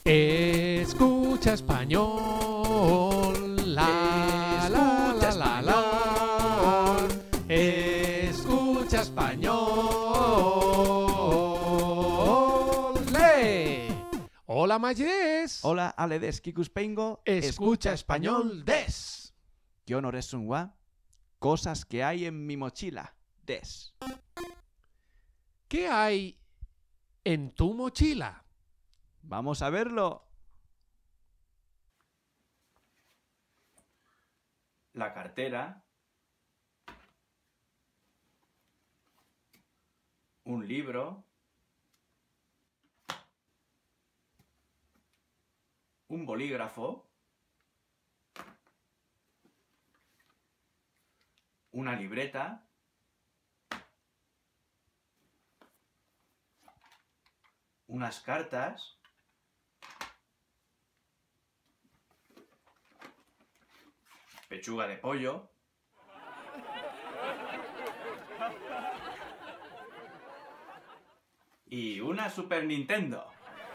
Escucha español. La, la, la, la, la. Escucha español. ¡Le! Hola, Mayes. Hola, ale des kikuspengo. Escucha español des. Kyonoresun wa cosas que hay en mi mochila des. ¿Qué hay en tu mochila? Vamos a verlo. La cartera. Un libro. Un bolígrafo. Una libreta. Unas cartas. Pechuga de pollo. Y una Super Nintendo.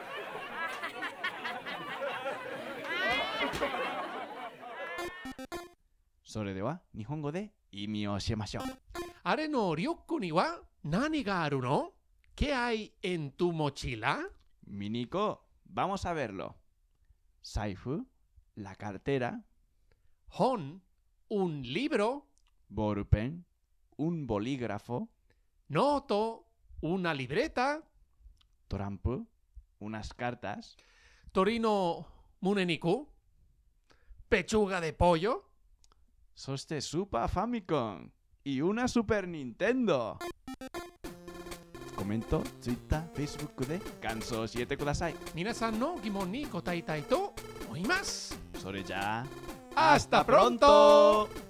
Sore de wa Nihongo de imi o shimashou. Are no ryokku ni wa nani ga aru no? ¿Qué hay en tu mochila? Miniko, vamos a verlo. Saifu, la cartera. Hon, un libro. Ballpen, un bolígrafo. Noto, una libreta. Torampu, unas cartas. Torino muneniku. Pechuga de pollo. Soste Super Famicom y una Super Nintendo. Comento, Twitter, Facebook で感想を教えてください。 皆さんの疑問に答えたいと思います。 それじゃあ、Hasta pronto!